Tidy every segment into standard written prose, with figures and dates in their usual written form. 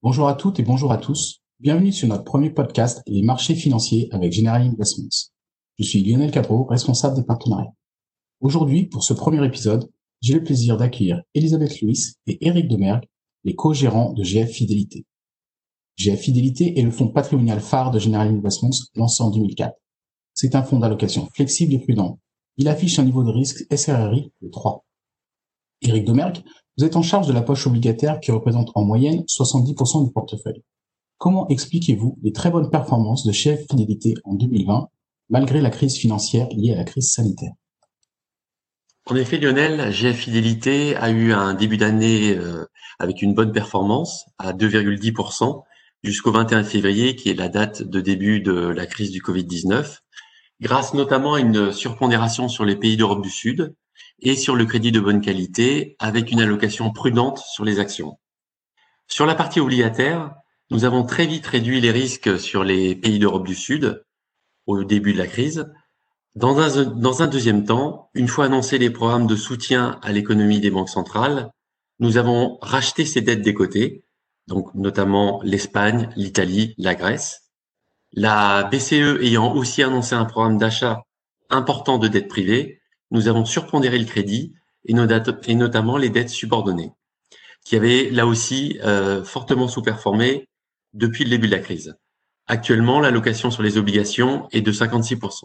Bonjour à toutes et bonjour à tous. Bienvenue sur notre premier podcast, les marchés financiers avec General Investments. Je suis Lionel Capot, responsable des partenariats. Aujourd'hui, pour ce premier épisode, j'ai le plaisir d'accueillir Elisabeth Louis et Éric Demergue, les co-gérants de GF Fidélité. GF Fidélité est le fonds patrimonial phare de General Investments lancé en 2004. C'est un fonds d'allocation flexible et prudent. Il affiche un niveau de risque SRRI de 3. Éric Demergue, vous êtes en charge de la poche obligataire qui représente en moyenne 70% du portefeuille. Comment expliquez-vous les très bonnes performances de GF Fidélité en 2020, malgré la crise financière liée à la crise sanitaire? En effet, Lionel, GF Fidélité a eu un début d'année avec une bonne performance à 2,10% jusqu'au 21 février, qui est la date de début de la crise du Covid-19, grâce notamment à une surpondération sur les pays d'Europe du Sud et sur le crédit de bonne qualité, avec une allocation prudente sur les actions. Sur la partie obligataire, nous avons très vite réduit les risques sur les pays d'Europe du Sud au début de la crise. Dans un deuxième temps, une fois annoncés les programmes de soutien à l'économie des banques centrales, nous avons racheté ces dettes des côtés, donc notamment l'Espagne, l'Italie, la Grèce. La BCE ayant aussi annoncé un programme d'achat important de dettes privées, nous avons surpondéré le crédit et notamment les dettes subordonnées, qui avaient là aussi fortement sous-performé depuis le début de la crise. Actuellement, l'allocation sur les obligations est de 56%.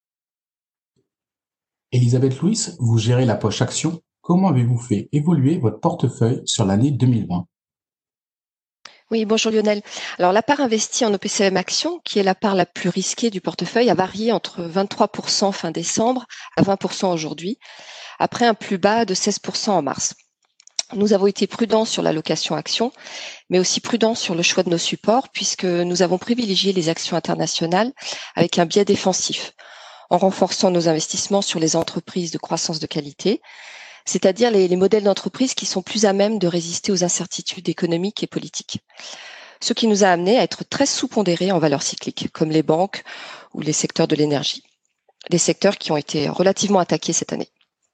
Elisabeth Louis, vous gérez la poche action. Comment avez-vous fait évoluer votre portefeuille sur l'année 2020? Oui, bonjour Lionel. Alors la part investie en OPCVM Action, qui est la part la plus risquée du portefeuille, a varié entre 23% fin décembre à 20% aujourd'hui, après un plus bas de 16% en mars. Nous avons été prudents sur l'allocation action, mais aussi prudents sur le choix de nos supports, puisque nous avons privilégié les actions internationales avec un biais défensif, en renforçant nos investissements sur les entreprises de croissance de qualité, c'est-à-dire les modèles d'entreprise qui sont plus à même de résister aux incertitudes économiques et politiques. Ce qui nous a amené à être très sous-pondérés en valeurs cycliques, comme les banques ou les secteurs de l'énergie, des secteurs qui ont été relativement attaqués cette année.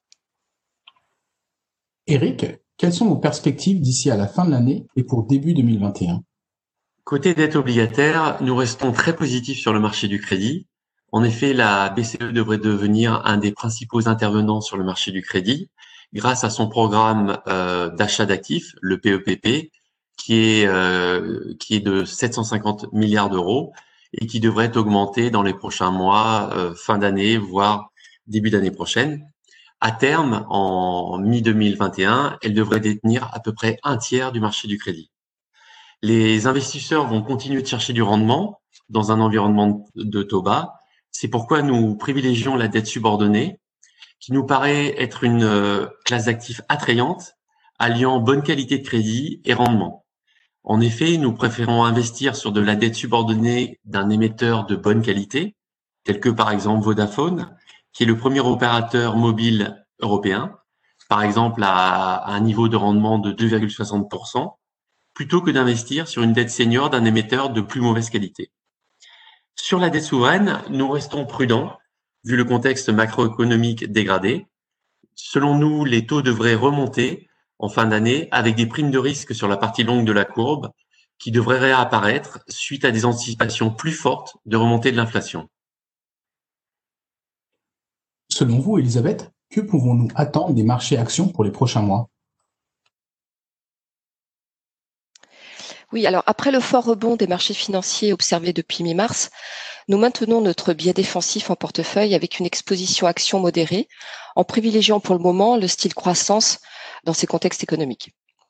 Éric, quelles sont vos perspectives d'ici à la fin de l'année et pour début 2021? Côté dette obligataire, nous restons très positifs sur le marché du crédit. En effet, la BCE devrait devenir un des principaux intervenants sur le marché du crédit grâce à son programme d'achat d'actifs, le PEPP, qui est de 750 milliards d'euros et qui devrait augmenter dans les prochains mois, fin d'année, voire début d'année prochaine. À terme, en mi-2021, elle devrait détenir à peu près un tiers du marché du crédit. Les investisseurs vont continuer de chercher du rendement dans un environnement de taux bas. C'est pourquoi nous privilégions la dette subordonnée, qui nous paraît être une classe d'actifs attrayante, alliant bonne qualité de crédit et rendement. En effet, nous préférons investir sur de la dette subordonnée d'un émetteur de bonne qualité, tel que par exemple Vodafone, qui est le premier opérateur mobile européen, par exemple à un niveau de rendement de 2,60%, plutôt que d'investir sur une dette senior d'un émetteur de plus mauvaise qualité. Sur la dette souveraine, nous restons prudents, vu le contexte macroéconomique dégradé. Selon nous, les taux devraient remonter en fin d'année avec des primes de risque sur la partie longue de la courbe qui devraient réapparaître suite à des anticipations plus fortes de remontée de l'inflation. Selon vous, Elisabeth, que pouvons-nous attendre des marchés actions pour les prochains mois? Oui, alors après le fort rebond des marchés financiers observé depuis mi-mars, nous maintenons notre biais défensif en portefeuille avec une exposition action modérée, en privilégiant pour le moment le style croissance dans ces contextes économiques.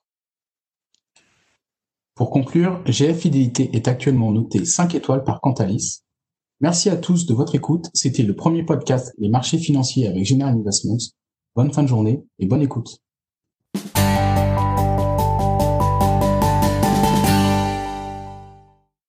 Pour conclure, GF Fidélité est actuellement noté 5 étoiles par Cantalis. Merci à tous de votre écoute. C'était le premier podcast Les marchés financiers avec General Investments. Bonne fin de journée et bonne écoute.